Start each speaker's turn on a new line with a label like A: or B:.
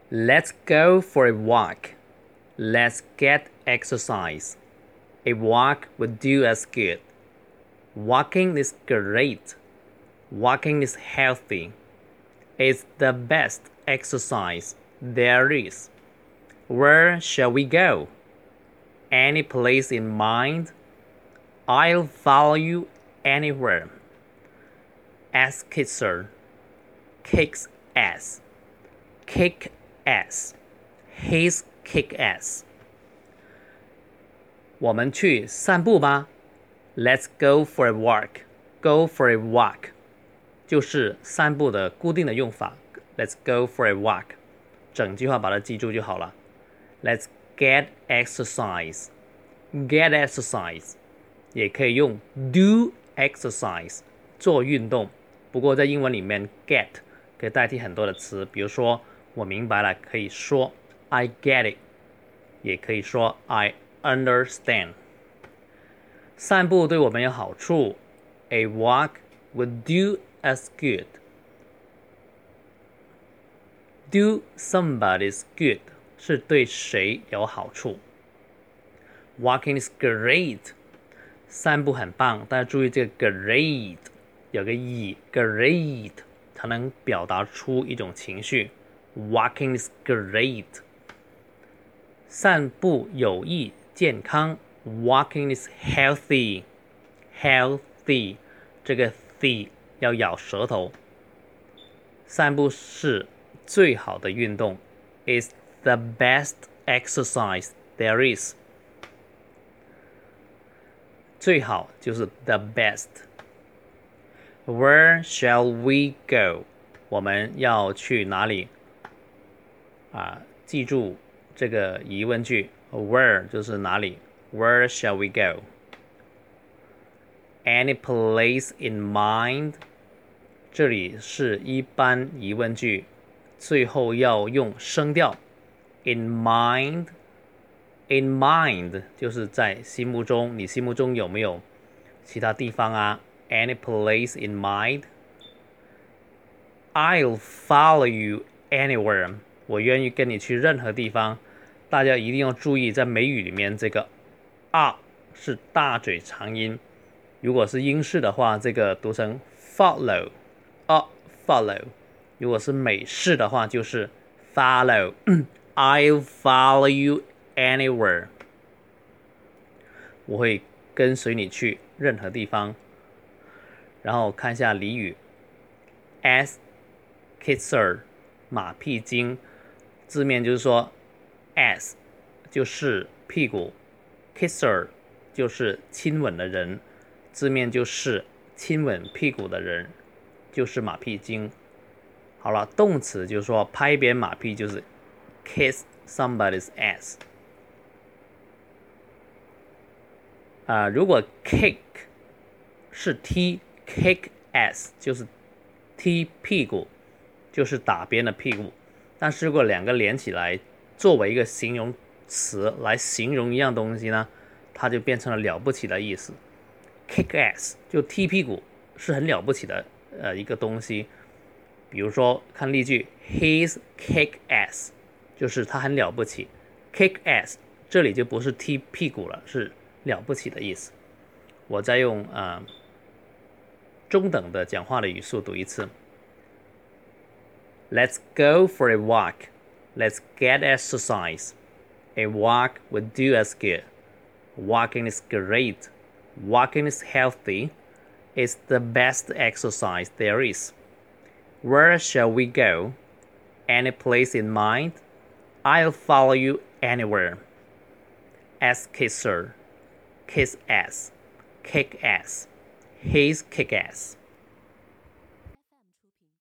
A: Let's go for a walk. Let's get exercise. A walk would do us good. Walking is great. Walking is healthy. It's the best exercise there is. Where shall we go? Any place in mind? I'll follow you anywhere. Ass kisser. Kicks ass. Kick ass. His kick ass. 我们去散步吧。Let's go for a walk. Go for a walk. 就是散步的固定的用法。Let's go for a walk. 整句话把它记住就好了。Let's get exercise. Get exercise. 也可以用 do exercise 做运动。不过在英文里面 get 可以代替很多的词，比如说我明白了，可以说 I get it， 也可以说 I understand。散步对我们有好处。A walk would do us good. Do somebody's good 是对谁有好处。Walking is great. 散步很棒，大家注意这个 great 有个 great 它能表达出一种情绪。Walking is great. 散步有益健康。Walking is healthy. Healthy 这个 the 要咬舌头。散步是最好的运动。It's the best exercise there is. 最好就是 the best. Where shall we go? 我们要去哪里？记住这个疑问句 where 就是哪里 Where shall we go? Any place in mind? 这里是一般疑问句，最后要用声调 in mind. In mind 就是在心目中，你心目中有没有其他地方啊？ Any place in mind? I'll follow you anywhere. 我愿意跟你去任何地方。大家一定要注意，在美语里面这个 R 是大嘴长音，如果是英式的话，这个读成 follow. Follow. 如果是美式的话，就是 follow. I'll follow you anywhere. 我会跟随你去任何地方。然后看一下俚语 ass kisser 马屁精，字面就是说 ass 就是屁股， kisser 就是亲吻的人，字面就是亲吻屁股的人就是马屁精。好了，动词就是说拍扁马屁，就是 kiss somebody's ass。如果 kick 是踢 kick ass 就是踢屁股，就是打别人的屁股。但是如果两个连起来作为一个形容词来形容一样东西呢，它就变成了了不起的意思。kick ass 就踢屁股，是很了不起的一个东西。比如说看例句 He's kick ass 就是他很了不起。kick ass 这里就不是踢屁股了，是了不起的意思。我再用中等的讲话的语速读一次。Let's go for a walk. Let's get exercise. A walk would do us good. Walking is great. Walking is healthy. It's the best exercise there is. Where shall we go? Any place in mind? I'll follow you anywhere. Ass kisser. Kiss ass. Kick ass. His kick ass.